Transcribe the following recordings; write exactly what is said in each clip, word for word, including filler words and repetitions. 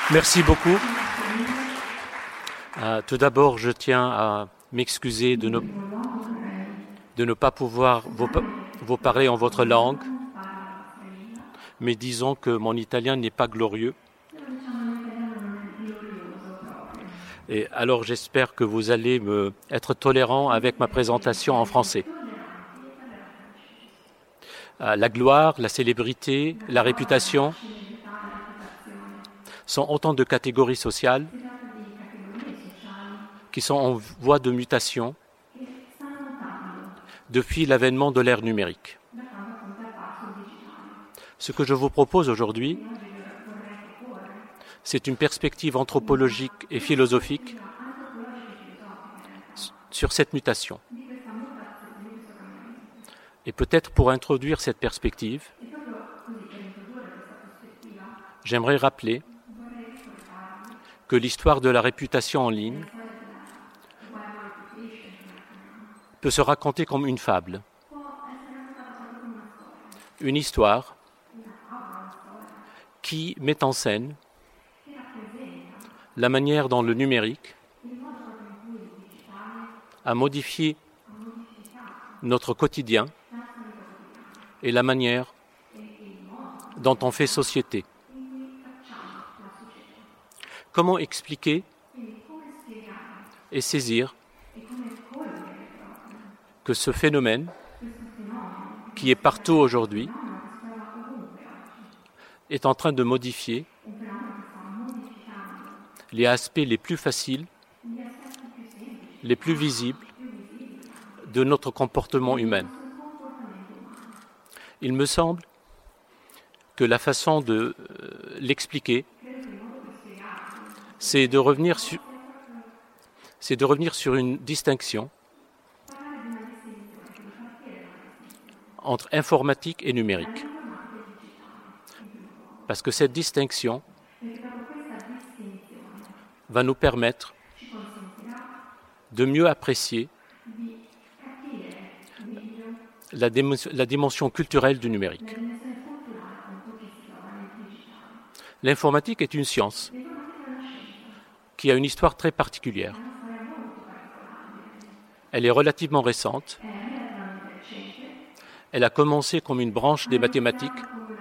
Merci beaucoup. Euh, tout d'abord, je tiens à m'excuser de ne, de ne pas pouvoir vous, vous parler en votre langue, mais disons que mon italien n'est pas glorieux. Et alors j'espère que vous allez me, être tolérant avec ma présentation en français. Euh, la gloire, la célébrité, la réputation sont autant de catégories sociales qui sont en voie de mutation depuis l'avènement de l'ère numérique. Ce que je vous propose aujourd'hui, c'est une perspective anthropologique et philosophique sur cette mutation. Et peut-être pour introduire cette perspective, j'aimerais rappeler que l'histoire de la réputation en ligne peut se raconter comme une fable, une histoire qui met en scène la manière dont le numérique a modifié notre quotidien et la manière dont on fait société. Comment expliquer et saisir que ce phénomène, qui est partout aujourd'hui, est en train de modifier les aspects les plus faciles, les plus visibles de notre comportement humain. Il me semble que la façon de euh, l'expliquer, c'est de revenir sur, c'est de revenir sur une distinction entre informatique et numérique. Parce que cette distinction va nous permettre de mieux apprécier la, dim- la dimension culturelle du numérique. L'informatique est une science qui a une histoire très particulière. Elle est relativement récente. Elle a commencé comme une branche des mathématiques.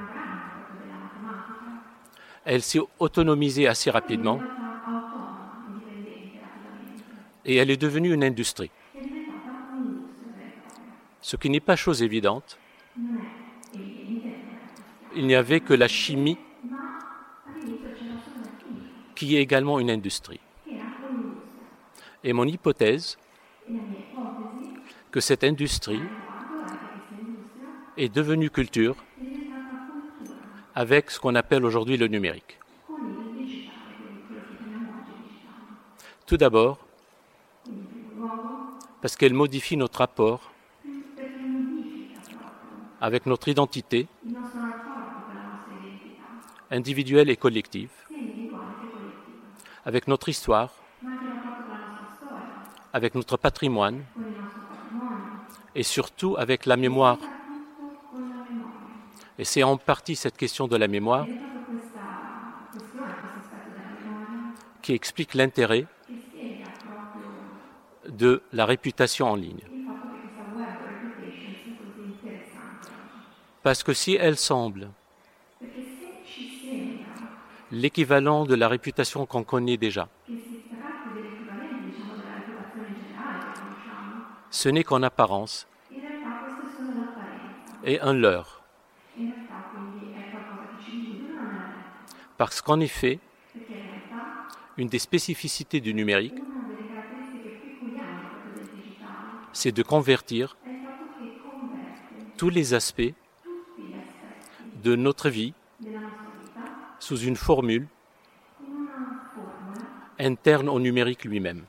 Elle s'est autonomisée assez rapidement. Et elle est devenue une industrie. Ce qui n'est pas chose évidente. Il n'y avait que la chimie qui est également une industrie. Et mon hypothèse, que cette industrie est devenue culture avec ce qu'on appelle aujourd'hui le numérique. Tout d'abord, parce qu'elle modifie notre rapport avec notre identité individuelle et collective, avec notre histoire, avec notre patrimoine et surtout avec la mémoire. Et c'est en partie cette question de la mémoire qui explique l'intérêt de la réputation en ligne. Parce que si elle semble l'équivalent de la réputation qu'on connaît déjà, ce n'est qu'en apparence et un leurre. Parce qu'en effet, une des spécificités du numérique, c'est de convertir tous les aspects de notre vie sous une formule interne au numérique lui-même.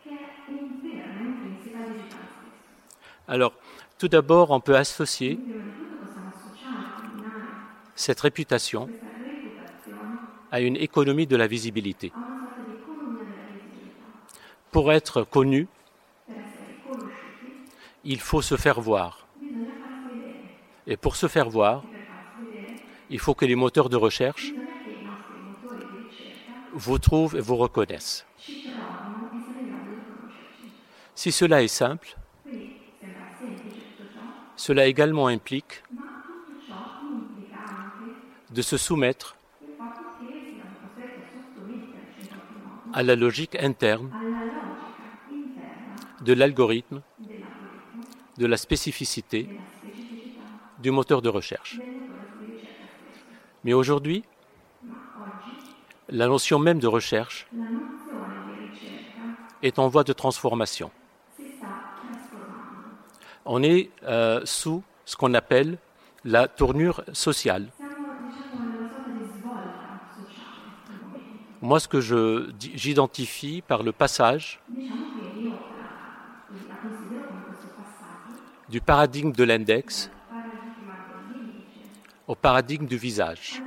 Alors, tout d'abord, on peut associer cette réputation à une économie de la visibilité. Pour être connu, il faut se faire voir. Et pour se faire voir, il faut que les moteurs de recherche vous trouvent et vous reconnaissent. Si cela est simple, cela également implique de se soumettre à la logique interne de l'algorithme, de la spécificité du moteur de recherche. Mais aujourd'hui, la notion même de recherche est en voie de transformation. On est euh, sous ce qu'on appelle la tournure sociale. Moi, ce que je, j'identifie par le passage du paradigme de l'index au paradigme du visage.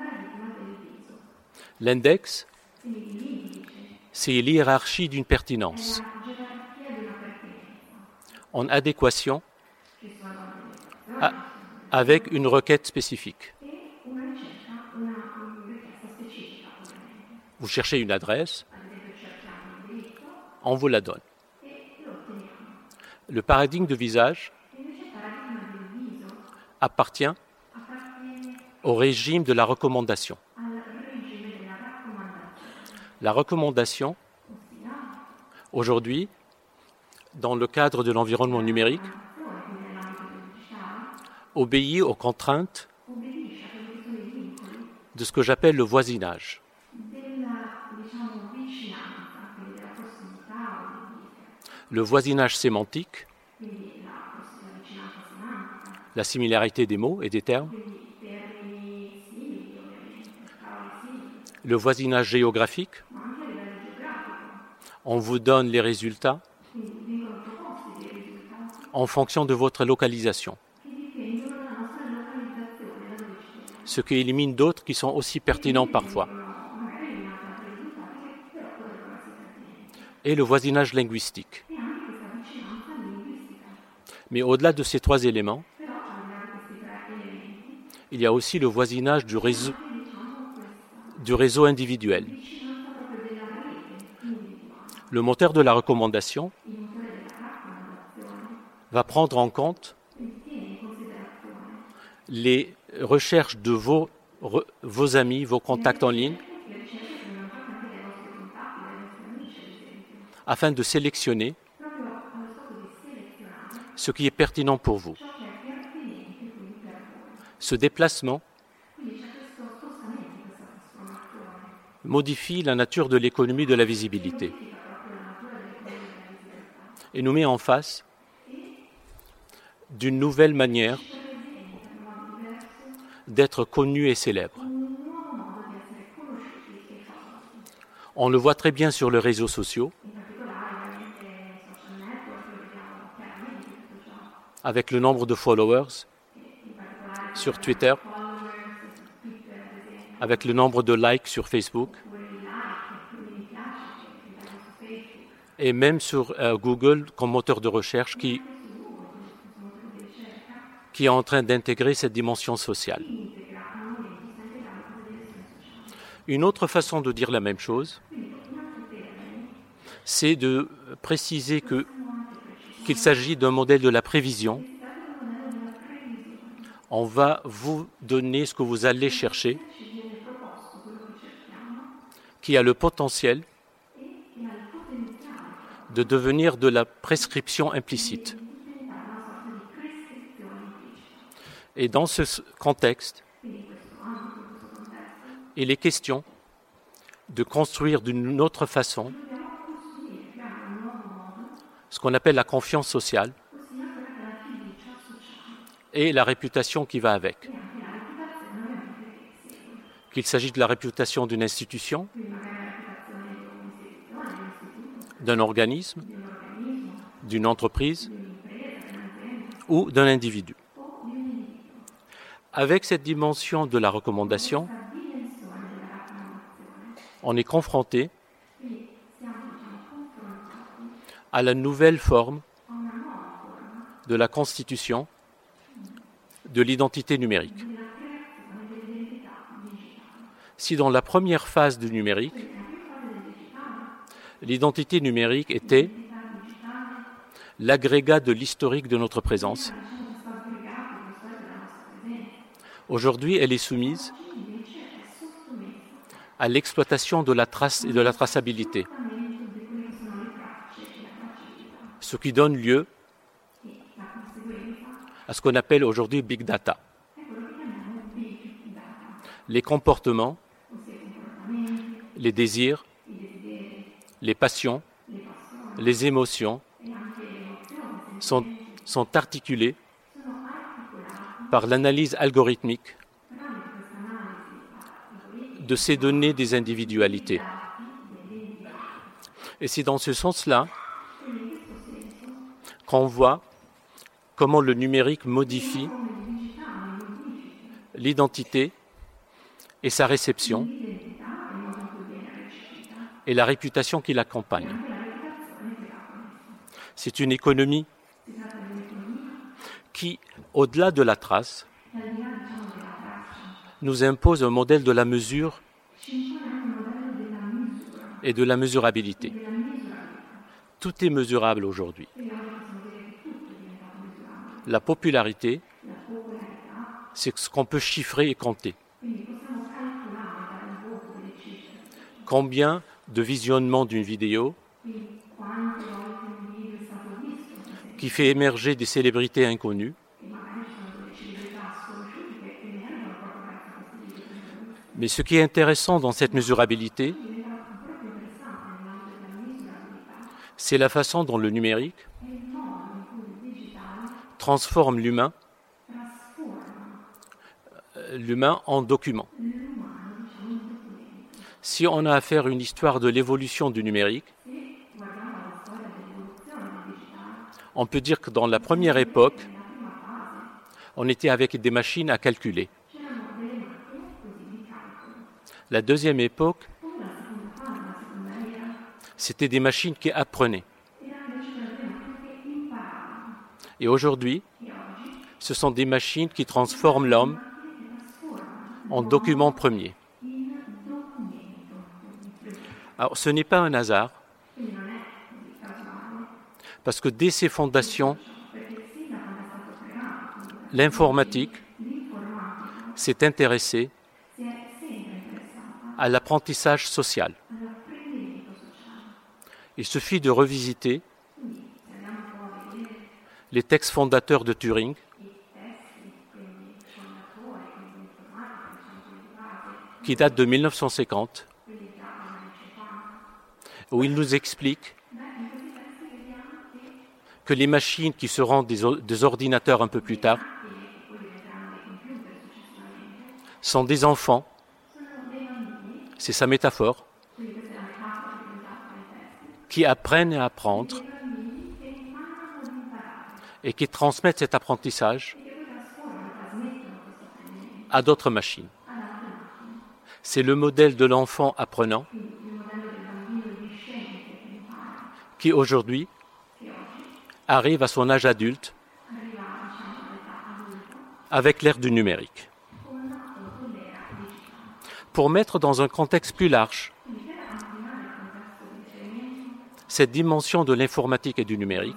L'index, c'est l'hiérarchie d'une pertinence en adéquation à, avec une requête spécifique. Vous cherchez une adresse, on vous la donne. Le paradigme de visage appartient au régime de la recommandation. La recommandation, aujourd'hui, dans le cadre de l'environnement numérique, obéit aux contraintes de ce que j'appelle le voisinage. Le voisinage sémantique, la similarité des mots et des termes, le voisinage géographique, on vous donne les résultats en fonction de votre localisation, ce qui élimine d'autres qui sont aussi pertinents parfois. Et le voisinage linguistique. Mais au-delà de ces trois éléments, il y a aussi le voisinage du réseau, du réseau individuel. Le moteur de la recommandation va prendre en compte les recherches de vos, vos amis, vos contacts en ligne, afin de sélectionner ce qui est pertinent pour vous. Ce déplacement modifie la nature de l'économie de la visibilité et nous met en face d'une nouvelle manière d'être connu et célèbre. On le voit très bien sur les réseaux sociaux, avec le nombre de followers sur Twitter, avec le nombre de likes sur Facebook, et même sur euh, Google comme moteur de recherche qui, qui est en train d'intégrer cette dimension sociale. Une autre façon de dire la même chose, c'est de préciser que, qu'il s'agit d'un modèle de la prévision. On va vous donner ce que vous allez chercher, qui a le potentiel de devenir de la prescription implicite. Et dans ce contexte, il est question de construire d'une autre façon ce qu'on appelle la confiance sociale et la réputation qui va avec. Qu'il s'agisse de la réputation d'une institution, d'un organisme, d'une entreprise ou d'un individu. Avec cette dimension de la recommandation, on est confronté à la nouvelle forme de la constitution de l'identité numérique. Si dans la première phase du numérique, L'identité numérique était l'agrégat de l'historique de notre présence. Aujourd'hui, elle est soumise à l'exploitation de la trace et de la traçabilité, ce qui donne lieu à ce qu'on appelle aujourd'hui Big Data. Les comportements, les désirs, les passions, les émotions sont, sont articulés par l'analyse algorithmique de ces données des individualités. Et c'est dans ce sens-là qu'on voit comment le numérique modifie l'identité et sa réception et la réputation qui l'accompagne. C'est une économie qui, au-delà de la trace, nous impose un modèle de la mesure et de la mesurabilité. Tout est mesurable aujourd'hui. La popularité, c'est ce qu'on peut chiffrer et compter. Combien de visionnements d'une vidéo qui fait émerger des célébrités inconnues, mais ce qui est intéressant dans cette mesurabilité, c'est la façon dont le numérique transforme l'humain, l'humain en document. Si on a à faire une histoire de l'évolution du numérique, on peut dire que dans la première époque, on était avec des machines à calculer. La deuxième époque, c'était des machines qui apprenaient. Et aujourd'hui, ce sont des machines qui transforment l'homme en document premier. Alors, ce n'est pas un hasard, parce que dès ses fondations, l'informatique s'est intéressée à l'apprentissage social. Il suffit de revisiter les textes fondateurs de Turing, qui datent de mille neuf cent cinquante, où il nous explique que les machines qui seront des, des ordinateurs un peu plus tard sont des enfants, c'est sa métaphore, qui apprennent à apprendre et qui transmettent cet apprentissage à d'autres machines. C'est le modèle de l'enfant apprenant qui aujourd'hui arrive à son âge adulte avec l'ère du numérique. Pour mettre dans un contexte plus large cette dimension de l'informatique et du numérique,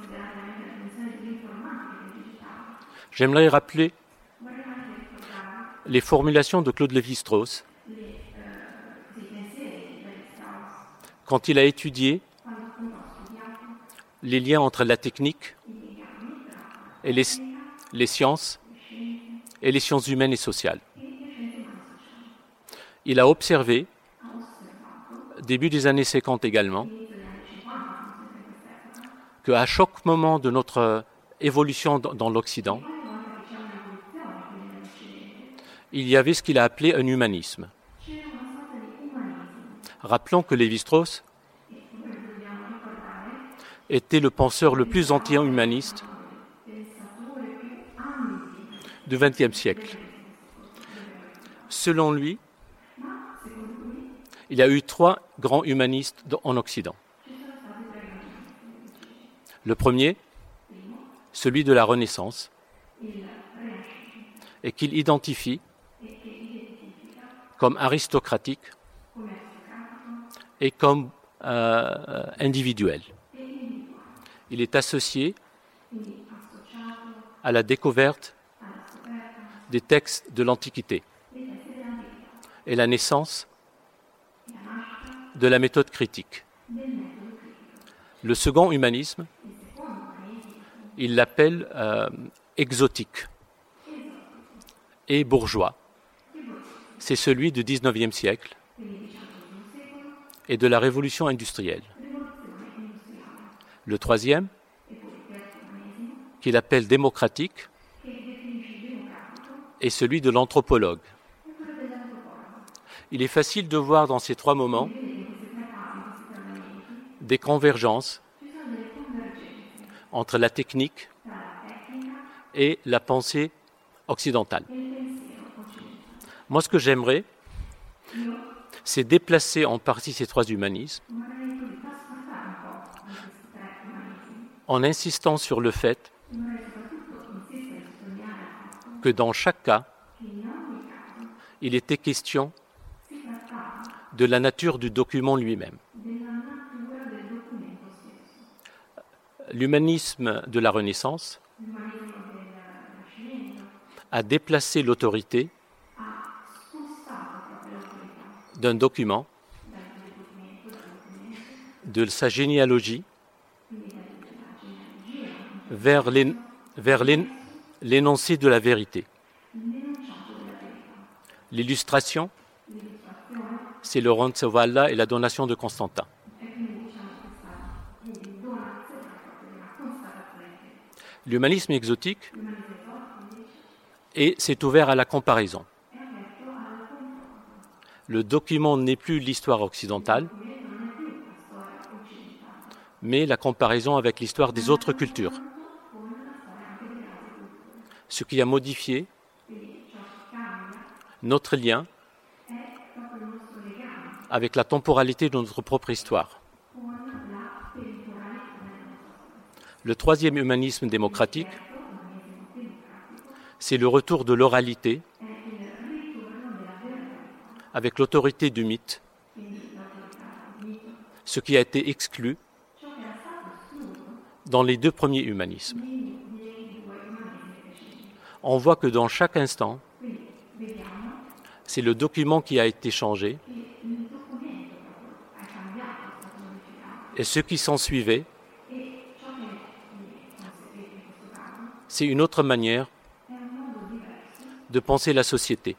j'aimerais rappeler les formulations de Claude Lévi-Strauss quand il a étudié les liens entre la technique et les, les sciences et les sciences humaines et sociales. Il a observé, début des années cinquante également, qu'à chaque moment de notre évolution dans l'Occident, il y avait ce qu'il a appelé un humanisme. Rappelons que Lévi-Strauss était le penseur le plus anti-humaniste du vingtième siècle. Selon lui, il y a eu trois grands humanistes en Occident. Le premier, celui de la Renaissance, et qu'il identifie comme aristocratique et comme euh, individuelle. Il est associé à la découverte des textes de l'Antiquité et la naissance de la méthode critique. Le second humanisme, il l'appelle euh, exotique et bourgeois. C'est celui du dix-neuvième siècle et de la révolution industrielle. Le troisième, qu'il appelle démocratique, est celui de l'anthropologue. Il est facile de voir dans ces trois moments des convergences entre la technique et la pensée occidentale. Moi, ce que j'aimerais, c'est déplacer en partie ces trois humanismes en insistant sur le fait que dans chaque cas, il était question de la nature du document lui-même. L'humanisme de la Renaissance a déplacé l'autorité d'un document, de sa généalogie, vers l'é- vers l'é- l'énoncé de la vérité. L'illustration, c'est le Roncesvalles et la donation de Constantin. L'humanisme exotique et s'est ouvert à la comparaison. Le document n'est plus l'histoire occidentale, mais la comparaison avec l'histoire des autres cultures. Ce qui a modifié notre lien avec la temporalité de notre propre histoire. Le troisième humanisme démocratique, c'est le retour de l'oralité avec l'autorité du mythe, ce qui a été exclu dans les deux premiers humanismes. On voit que dans chaque instant, c'est le document qui a été changé et ce qui s'en suivait, c'est une autre manière de penser la société.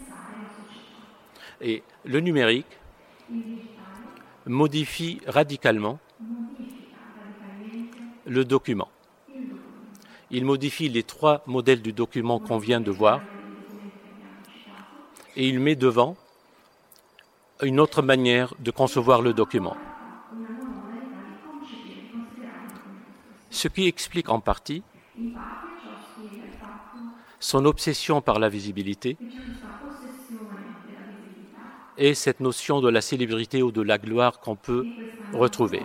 Et le numérique modifie radicalement le document. Il modifie les trois modèles du document qu'on vient de voir et il met devant une autre manière de concevoir le document. Ce qui explique en partie son obsession par la visibilité et cette notion de la célébrité ou de la gloire qu'on peut retrouver.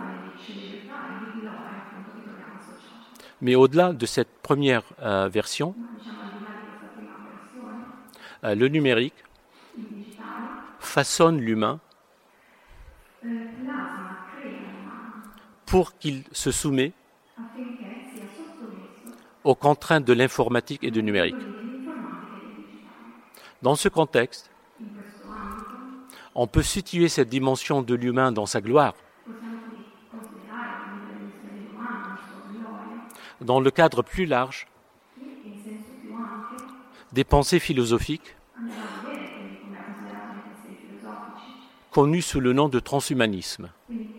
Mais au-delà de cette première euh, version, euh, le numérique façonne l'humain pour qu'il se soumette aux contraintes de l'informatique et du numérique. Dans ce contexte, on peut situer cette dimension de l'humain dans sa gloire, dans le cadre plus large des pensées philosophiques connues sous le nom de transhumanisme.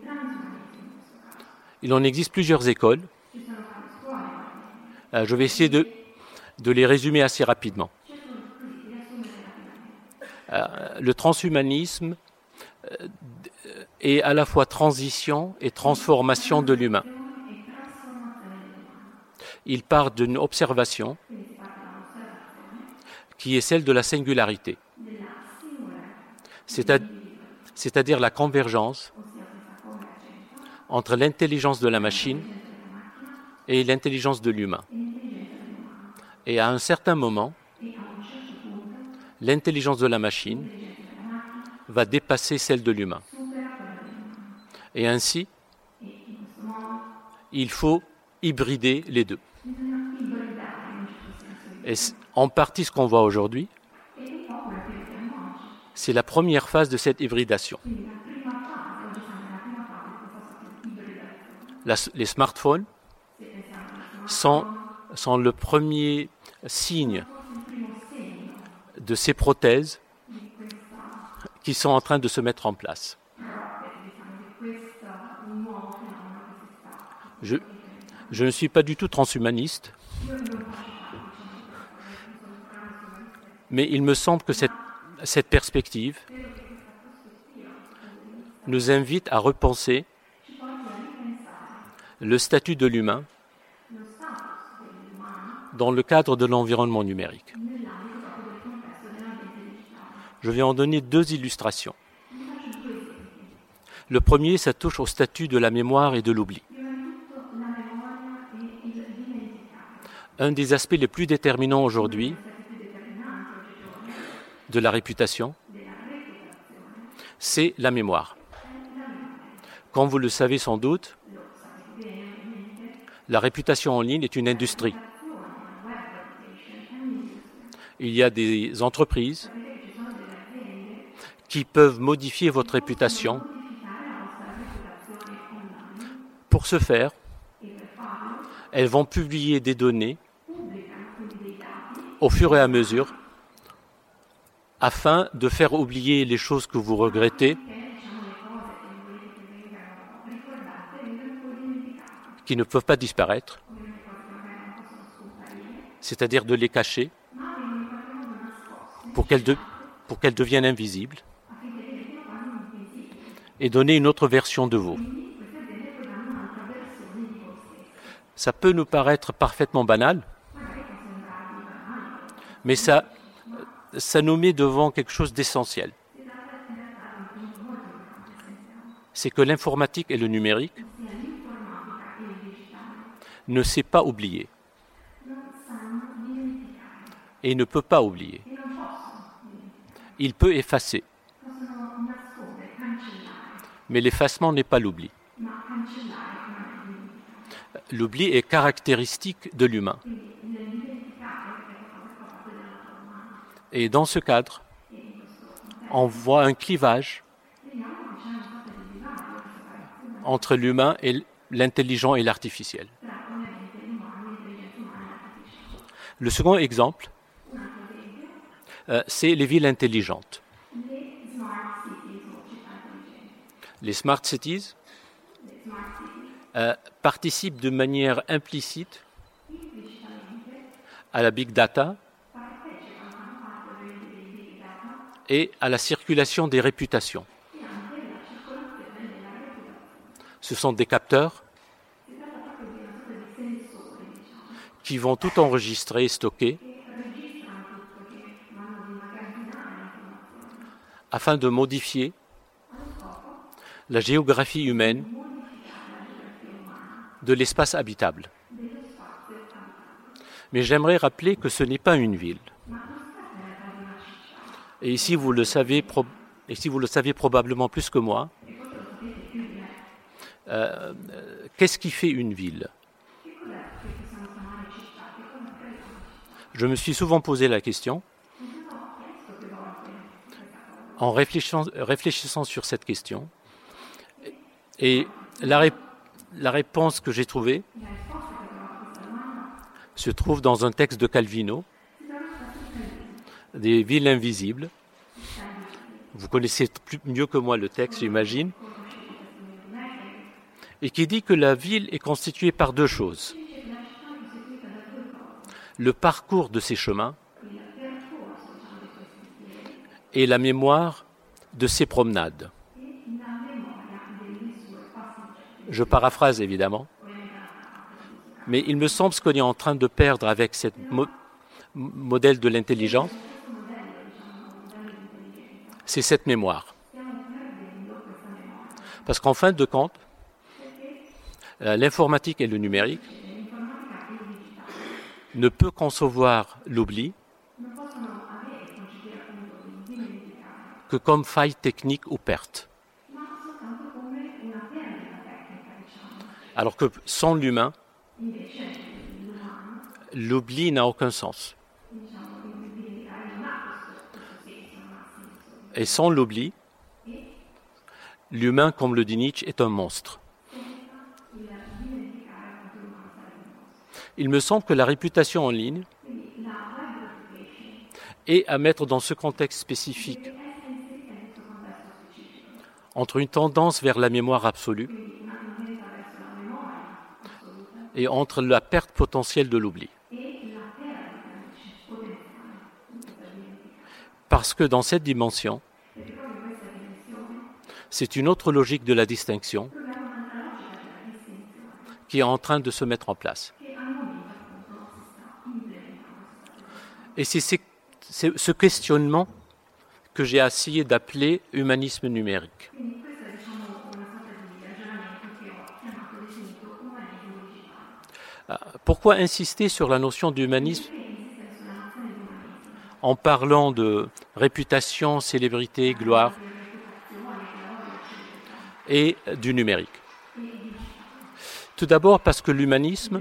Il en existe plusieurs écoles. Euh, je vais essayer de, de les résumer assez rapidement. Euh, le transhumanisme euh, est à la fois transition et transformation de l'humain. Il part d'une observation qui est celle de la singularité, c'est-à- c'est-à-dire la convergence entre l'intelligence de la machine et l'intelligence de l'humain. Et à un certain moment, l'intelligence de la machine va dépasser celle de l'humain. Et ainsi, il faut hybrider les deux. Et en partie, ce qu'on voit aujourd'hui, c'est la première phase de cette hybridation. La, les smartphones sont, sont le premier signe de ces prothèses qui sont en train de se mettre en place. Je, je ne suis pas du tout transhumaniste, mais il me semble que cette, cette perspective nous invite à repenser le statut de l'humain dans le cadre de l'environnement numérique. Je vais en donner deux illustrations. Le premier, ça touche au statut de la mémoire et de l'oubli. Un des aspects les plus déterminants aujourd'hui de la réputation, c'est la mémoire. Comme vous le savez sans doute, la réputation en ligne est une industrie. Il y a des entreprises qui peuvent modifier votre réputation. Pour ce faire, elles vont publier des données au fur et à mesure afin de faire oublier les choses que vous regrettez, qui ne peuvent pas disparaître, c'est-à-dire de les cacher pour qu'elles, de, pour qu'elles deviennent invisibles et donner une autre version de vous. Ça peut nous paraître parfaitement banal, mais ça, ça nous met devant quelque chose d'essentiel. C'est que l'informatique et le numérique ne sait pas oublier et ne peut pas oublier. Il peut effacer, mais l'effacement n'est pas l'oubli. L'oubli est caractéristique de l'humain. Et dans ce cadre, on voit un clivage entre l'humain et l'intelligent et l'artificiel. Le second exemple, euh, c'est les villes intelligentes. Les smart cities euh, participent de manière implicite à la big data et à la circulation des réputations. Ce sont des capteurs qui vont tout enregistrer et stocker afin de modifier la géographie humaine de l'espace habitable. Mais j'aimerais rappeler que ce n'est pas une ville. Et ici, vous le savez, pro- et si vous le savez probablement plus que moi, euh, qu'est-ce qui fait une ville ? Je me suis souvent posé la question. En réfléchissant, réfléchissant sur cette question, et la, ré, la réponse que j'ai trouvée se trouve dans un texte de Calvino, des villes invisibles. Vous connaissez plus, mieux que moi le texte, j'imagine, et qui dit que la ville est constituée par deux choses. Le parcours de ces chemins et la mémoire de ces promenades. Je paraphrase évidemment, mais il me semble ce qu'on est en train de perdre avec ce mo- modèle de l'intelligence, c'est cette mémoire. Parce qu'en fin de compte, l'informatique et le numérique ne peut concevoir l'oubli que comme faille technique ou perte. Alors que sans l'humain, l'oubli n'a aucun sens. Et sans l'oubli, l'humain, comme le dit Nietzsche, est un monstre. Il me semble que la réputation en ligne est à mettre dans ce contexte spécifique entre une tendance vers la mémoire absolue et entre la perte potentielle de l'oubli. Parce que dans cette dimension, c'est une autre logique de la distinction qui est en train de se mettre en place. Et c'est ce questionnement que j'ai essayé d'appeler humanisme numérique. Pourquoi insister sur la notion d'humanisme en parlant de réputation, célébrité, gloire et du numérique? Tout d'abord parce que l'humanisme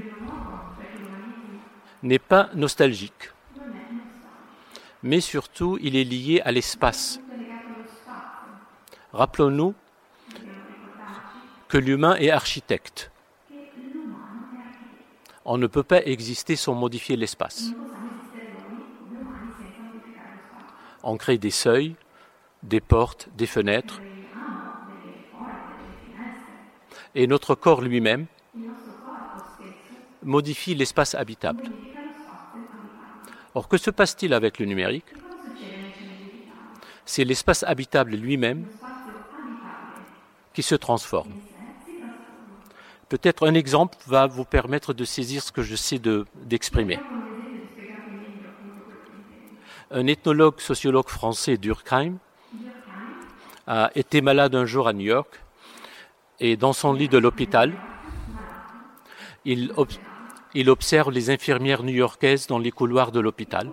n'est pas nostalgique, mais surtout il est lié à l'espace. Rappelons-nous que l'humain est architecte. On ne peut pas exister sans modifier l'espace. On crée des seuils, des portes, des fenêtres. Et notre corps lui-même modifie l'espace habitable. Or, que se passe-t-il avec le numérique? C'est l'espace habitable lui-même qui se transforme. Peut-être un exemple va vous permettre de saisir ce que je sais de, d'exprimer. Un ethnologue sociologue français, Durkheim, a été malade un jour à New York et dans son lit de l'hôpital, il, ob- il observe les infirmières new-yorkaises dans les couloirs de l'hôpital.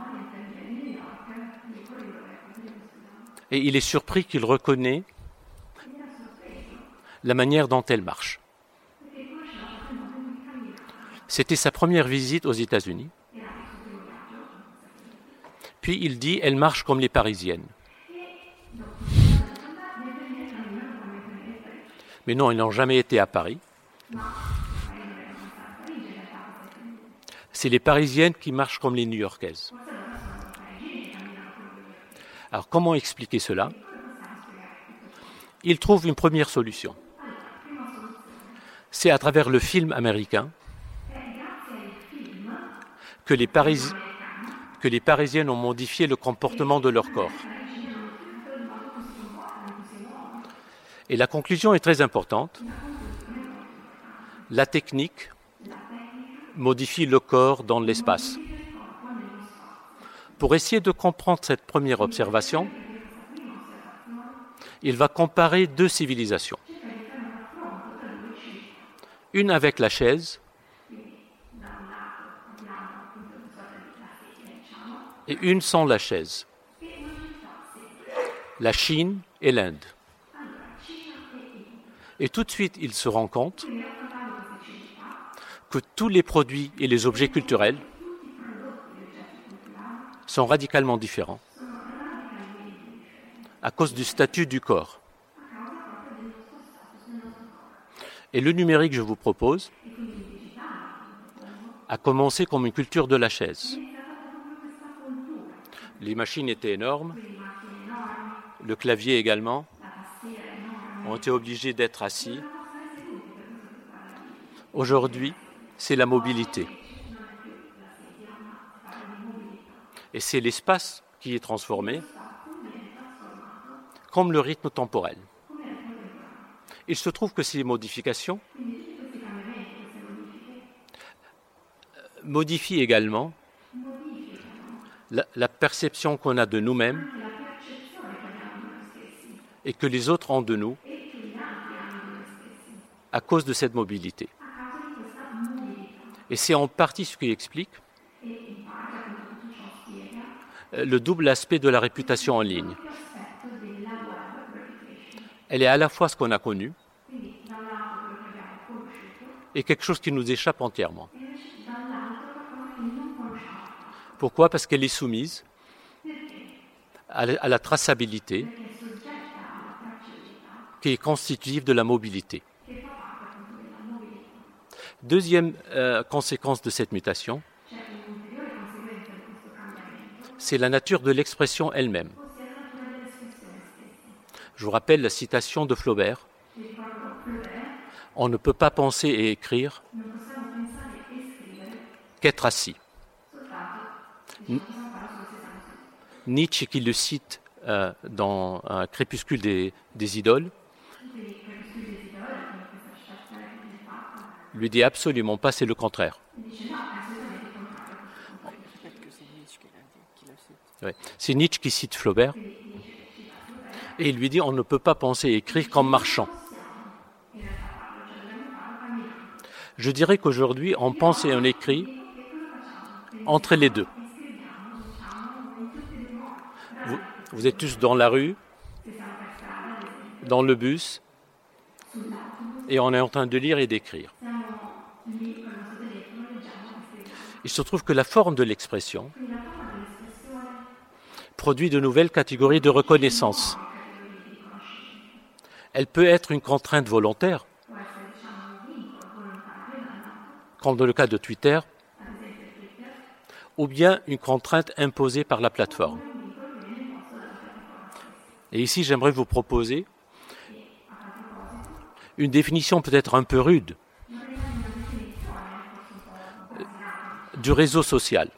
Et il est surpris qu'il reconnaît la manière dont elles marchent. C'était sa première visite aux États-Unis. Puis il dit, elles marchent comme les Parisiennes. Mais non, ils n'ont jamais été à Paris. C'est les Parisiennes qui marchent comme les New-Yorkaises. Alors comment expliquer cela? Il trouve une première solution. C'est à travers le film américain que les, Paris... que les Parisiennes ont modifié le comportement de leur corps. Et la conclusion est très importante. La technique modifie le corps dans l'espace. Pour essayer de comprendre cette première observation, il va comparer deux civilisations. Une avec la chaise et une sans la chaise. La Chine et l'Inde. Et tout de suite, il se rend compte que tous les produits et les objets culturels sont radicalement différents à cause du statut du corps. Et le numérique, je vous propose, a commencé comme une culture de la chaise. Les machines étaient énormes, le clavier également, ont été obligés d'être assis. Aujourd'hui, c'est la mobilité. Et c'est l'espace qui est transformé, comme le rythme temporel. Il se trouve que ces modifications modifient également la, la perception qu'on a de nous-mêmes et que les autres ont de nous à cause de cette mobilité. Et c'est en partie ce qui explique le double aspect de la réputation en ligne. Elle est à la fois ce qu'on a connu est quelque chose qui nous échappe entièrement. Pourquoi? Parce qu'elle est soumise à la traçabilité qui est constitutive de la mobilité. Deuxième euh, conséquence de cette mutation, c'est la nature de l'expression elle-même. Je vous rappelle la citation de Flaubert. On ne peut pas penser et écrire qu'être assis. Nietzsche, qui le cite euh, dans un Crépuscule des, des idoles, lui dit absolument pas, c'est le contraire. Ouais. C'est Nietzsche qui cite Flaubert et il lui dit on ne peut pas penser et écrire qu'en marchant. Je dirais qu'aujourd'hui on pense et on écrit entre les deux. Vous, vous êtes tous dans la rue, dans le bus, et on est en train de lire et d'écrire. Il se trouve que la forme de l'expression produit de nouvelles catégories de reconnaissance. Elle peut être une contrainte volontaire, comme dans le cas de Twitter, ou bien une contrainte imposée par la plateforme. Et ici, j'aimerais vous proposer une définition peut-être un peu rude du réseau social.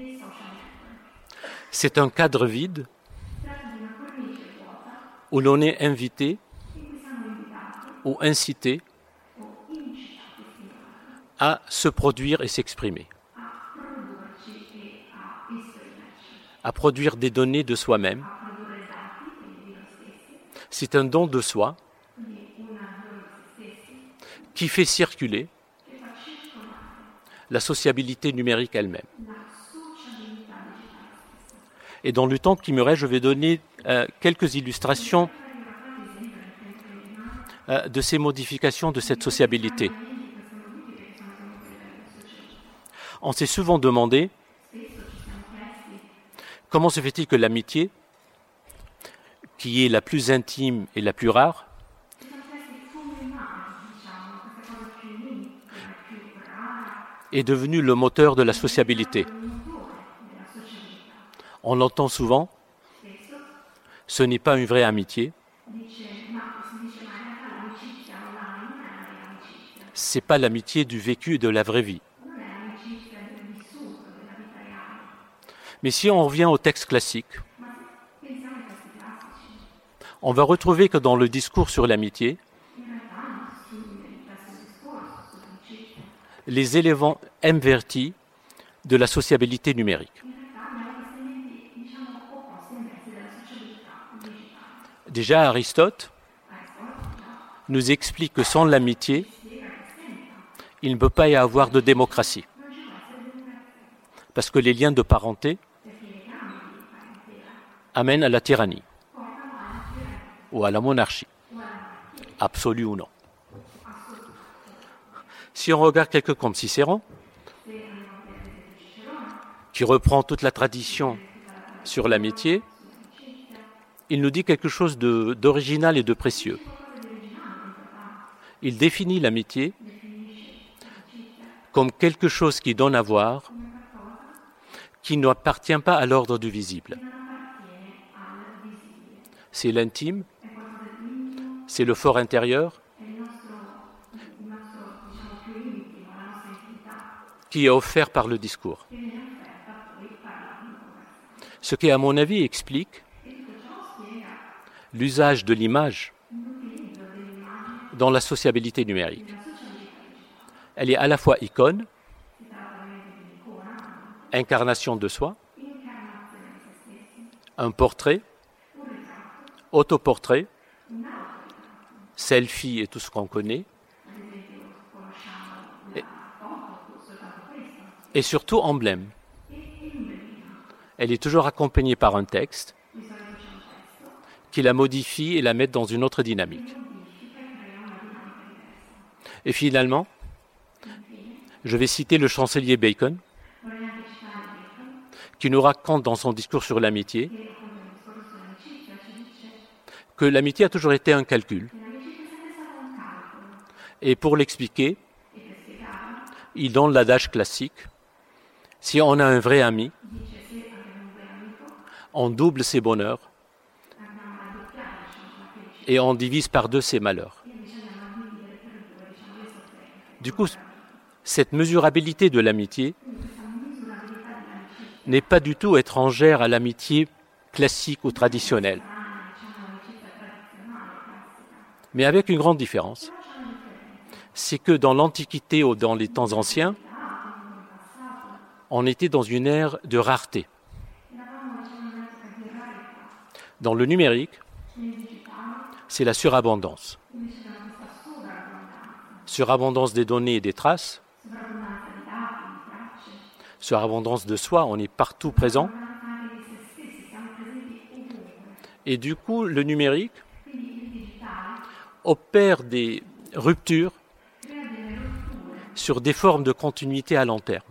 C'est un cadre vide où l'on est invité ou incité à se produire et s'exprimer, à produire des données de soi-même. C'est un don de soi qui fait circuler la sociabilité numérique elle-même. Et dans le temps qui me reste, je vais donner euh, quelques illustrations euh, de ces modifications de cette sociabilité. On s'est souvent demandé comment se fait-il que l'amitié, qui est la plus intime et la plus rare, est devenue le moteur de la sociabilité. On l'entend souvent, ce n'est pas une vraie amitié, ce n'est pas l'amitié du vécu et de la vraie vie. Mais si on revient au texte classique, on va retrouver que dans le discours sur l'amitié, les éléments invertis de la sociabilité numérique. Déjà, Aristote nous explique que sans l'amitié, il ne peut pas y avoir de démocratie. Parce que les liens de parenté amènent à la tyrannie ou à la monarchie, absolue ou non. Si on regarde quelqu'un comme Cicéron, qui reprend toute la tradition sur l'amitié, il nous dit quelque chose de, d'original et de précieux. Il définit l'amitié comme quelque chose qui donne à voir, qui n'appartient pas à l'ordre du visible. C'est l'intime, c'est le fort intérieur, qui est offert par le discours. Ce qui, à mon avis, explique l'usage de l'image dans la sociabilité numérique. Elle est à la fois icône, incarnation de soi, un portrait, autoportrait, selfie et tout ce qu'on connaît, et, et surtout emblème. Elle est toujours accompagnée par un texte qui la modifie et la met dans une autre dynamique. Et finalement, Je vais citer le chancelier Bacon, qui nous raconte dans son discours sur l'amitié que l'amitié a toujours été un calcul. Et pour l'expliquer, il donne l'adage classique: si on a un vrai ami, on double ses bonheurs et on divise par deux ses malheurs. Du coup, cette mesurabilité de l'amitié n'est pas du tout étrangère à l'amitié classique ou traditionnelle, mais avec une grande différence. C'est que dans l'Antiquité ou dans les temps anciens, on était dans une ère de rareté. Dans le numérique, c'est la surabondance. Surabondance des données et des traces, surabondance de soi, on est partout présent. Et du coup, le numérique opère des ruptures sur des formes de continuité à long terme.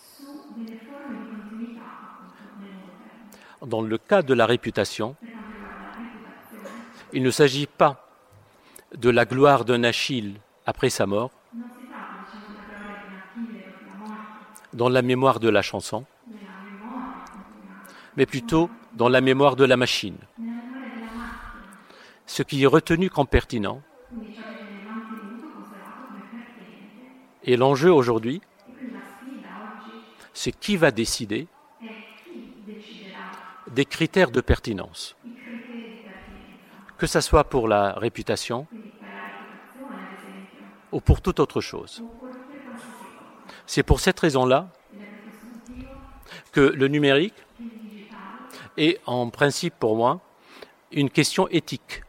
Dans le cas de la réputation, il ne s'agit pas de la gloire d'un Achille après sa mort, dans la mémoire de la chanson, mais plutôt dans la mémoire de la machine. Ce qui est retenu comme pertinent. Et l'enjeu aujourd'hui, c'est qui va décider des critères de pertinence. Que ce soit pour la réputation ou pour toute autre chose. C'est pour cette raison-là que le numérique est en principe pour moi une question éthique.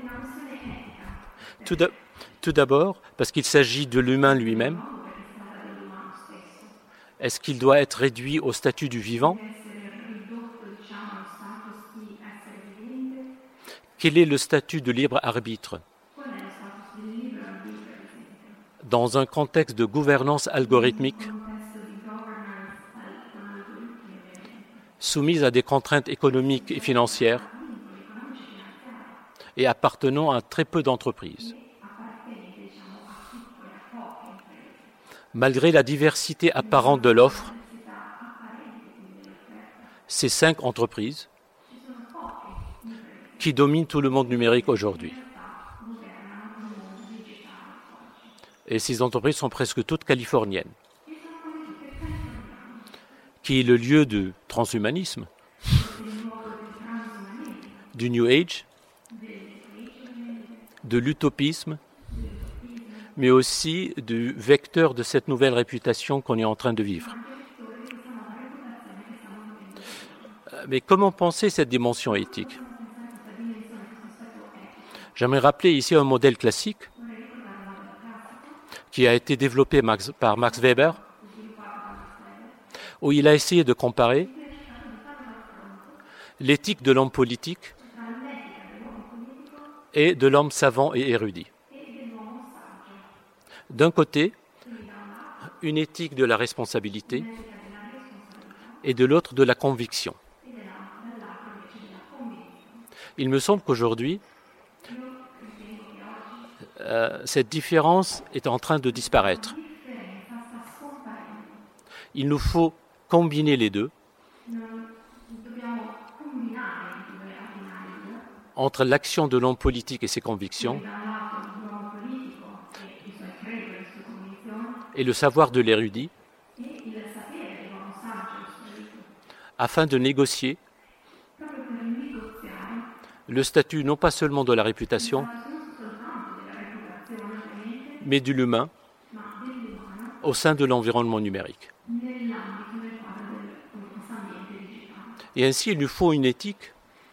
Tout d'abord, Tout d'abord, parce qu'il s'agit de l'humain lui-même. Est-ce qu'il doit être réduit au statut du vivant? Quel est le statut de libre arbitre dans un contexte de gouvernance algorithmique soumise à des contraintes économiques et financières et appartenant à très peu d'entreprises? Malgré la diversité apparente de l'offre, ces cinq entreprises qui dominent tout le monde numérique aujourd'hui. Et ces entreprises sont presque toutes californiennes, qui est le lieu du transhumanisme, du New Age, de l'utopisme, mais aussi du vecteur de cette nouvelle réputation qu'on est en train de vivre. Mais comment penser cette dimension éthique? J'aimerais rappeler ici un modèle classique qui a été développé par Max Weber, où il a essayé de comparer l'éthique de l'homme politique et de l'homme savant et érudit. D'un côté, une éthique de la responsabilité et de l'autre de la conviction. Il me semble qu'aujourd'hui, euh, cette différence est en train de disparaître. Il nous faut combiner les deux entre l'action de l'homme politique et ses convictions et le savoir de l'érudit, afin de négocier le statut non pas seulement de la réputation, mais de l'humain au sein de l'environnement numérique. Et ainsi, il nous faut une éthique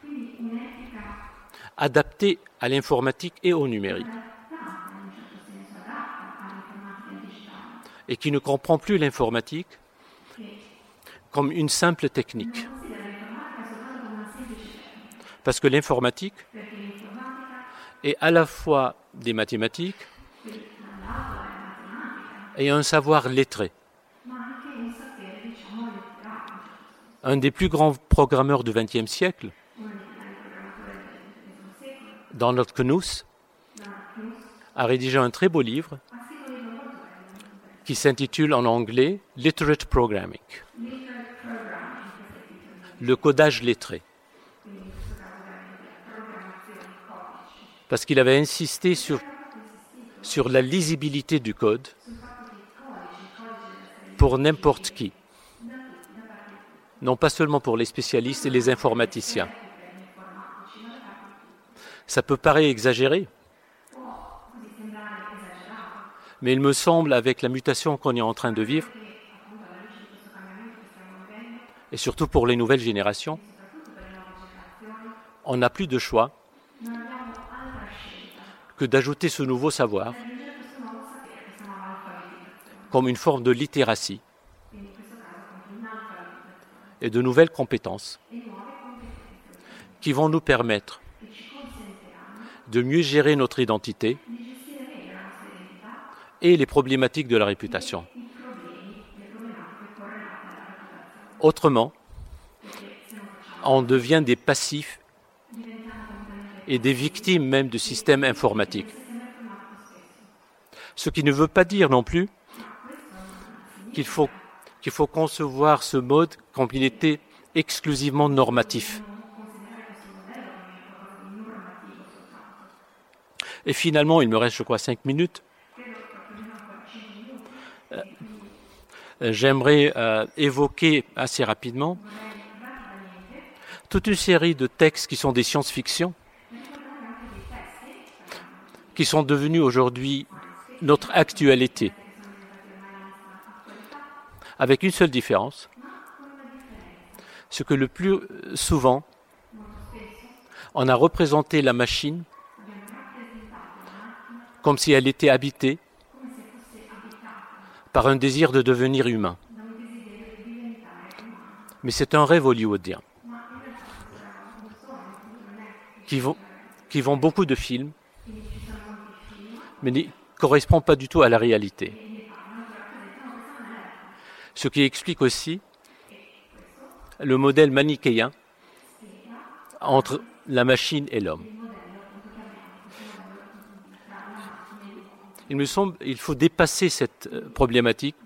adaptée à l'informatique et au numérique, et qui ne comprend plus l'informatique comme une simple technique. Parce que l'informatique est à la fois des mathématiques et un savoir lettré. Un des plus grands programmeurs du vingtième siècle, Donald Knuth, a rédigé un très beau livre qui s'intitule en anglais « Literate Programming », le codage lettré. Parce qu'il avait insisté sur, sur la lisibilité du code pour n'importe qui. Non pas seulement pour les spécialistes et les informaticiens. Ça peut paraître exagéré, mais il me semble, avec la mutation qu'on est en train de vivre, et surtout pour les nouvelles générations, on n'a plus de choix que d'ajouter ce nouveau savoir comme une forme de littératie et de nouvelles compétences qui vont nous permettre de mieux gérer notre identité et les problématiques de la réputation. Autrement, on devient des passifs et des victimes même du système informatique. Ce qui ne veut pas dire non plus qu'il faut, qu'il faut concevoir ce mode comme il était exclusivement normatif. Et finalement, il me reste, je crois, cinq minutes. Euh, j'aimerais euh, évoquer assez rapidement toute une série de textes qui sont des science-fiction, qui sont devenus aujourd'hui notre actualité, avec une seule différence, c'est que le plus souvent, on a représenté la machine comme si elle était habitée par un désir de devenir humain. Mais c'est un rêve hollywoodien qui vend, qui vend beaucoup de films, mais ne correspond pas du tout à la réalité. Ce qui explique aussi le modèle manichéen entre la machine et l'homme. Il me semble qu'il faut dépasser cette problématique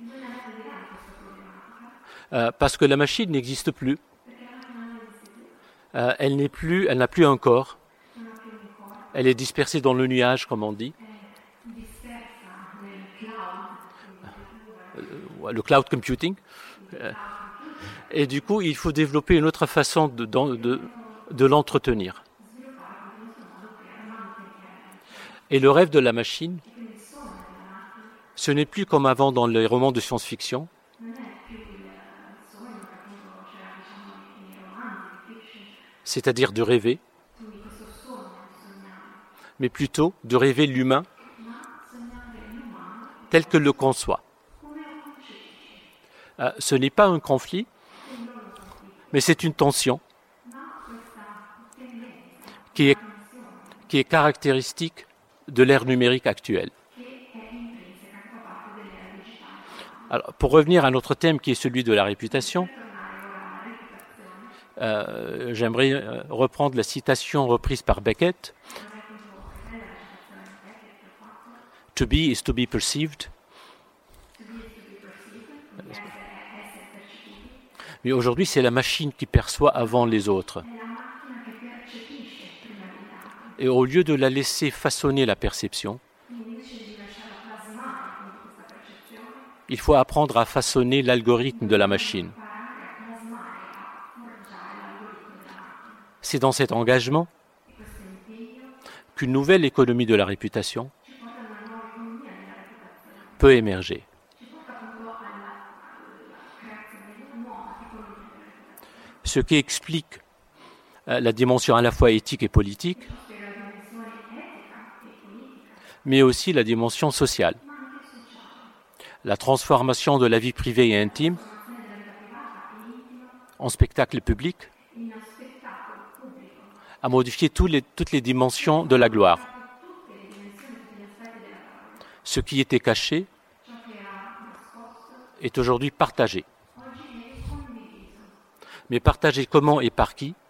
euh, parce que la machine n'existe plus. Euh, elle n'est plus, elle n'a plus un corps. Elle est dispersée dans le nuage, comme on dit. Euh, le cloud computing. Euh, et du coup, il faut développer une autre façon de, de, de l'entretenir. Et le rêve de la machine, ce n'est plus comme avant dans les romans de science-fiction, c'est-à-dire de rêver, mais plutôt de rêver l'humain tel que le conçoit. Euh, ce n'est pas un conflit, mais c'est une tension qui est, qui est caractéristique de l'ère numérique actuelle. Alors, pour revenir à notre thème qui est celui de la réputation, euh, j'aimerais euh, reprendre la citation reprise par Beckett. To be is to be perceived. Mais aujourd'hui, c'est la machine qui perçoit avant les autres. Et au lieu de la laisser façonner la perception, il faut apprendre à façonner l'algorithme de la machine. C'est dans cet engagement qu'une nouvelle économie de la réputation peut émerger. Ce qui explique la dimension à la fois éthique et politique, mais aussi la dimension sociale. La transformation de la vie privée et intime en spectacle public a modifié tous les, toutes les dimensions de la gloire. Ce qui était caché est aujourd'hui partagé. Mais partagé comment et par qui?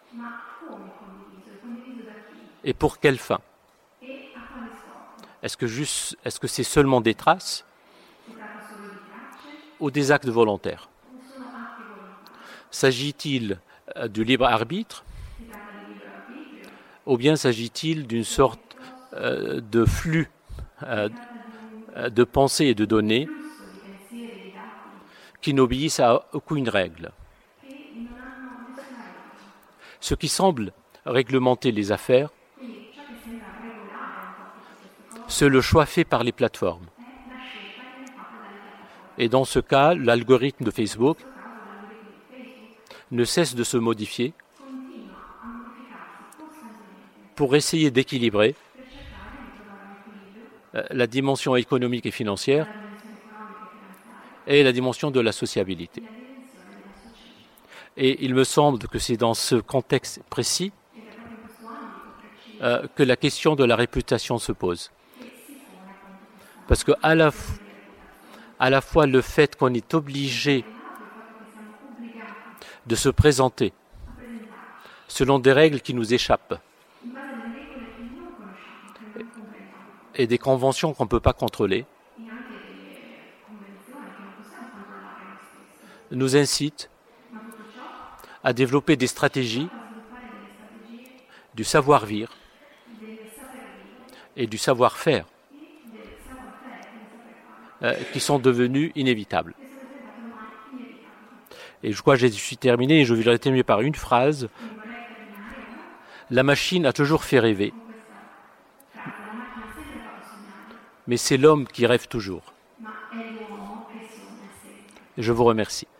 Et pour quelle fin? Est-ce que juste, est-ce que c'est seulement des traces ou des actes volontaires? S'agit-il du libre arbitre ou bien s'agit-il d'une sorte euh, de flux euh, de pensées et de données qui n'obéissent à aucune règle? Ce qui semble réglementer les affaires, c'est le choix fait par les plateformes. Et dans ce cas, l'algorithme de Facebook ne cesse de se modifier pour essayer d'équilibrer la dimension économique et financière et la dimension de la sociabilité. Et il me semble que c'est dans ce contexte précis euh, que la question de la réputation se pose. Parce que à la, à la fois le fait qu'on est obligé de se présenter selon des règles qui nous échappent et des conventions qu'on ne peut pas contrôler, nous incite à développer des stratégies du savoir-vivre et du savoir-faire euh, qui sont devenus inévitables. Et je crois que je suis terminé et je voudrais terminer par une phrase. La machine a toujours fait rêver, mais c'est l'homme qui rêve toujours. Je vous remercie.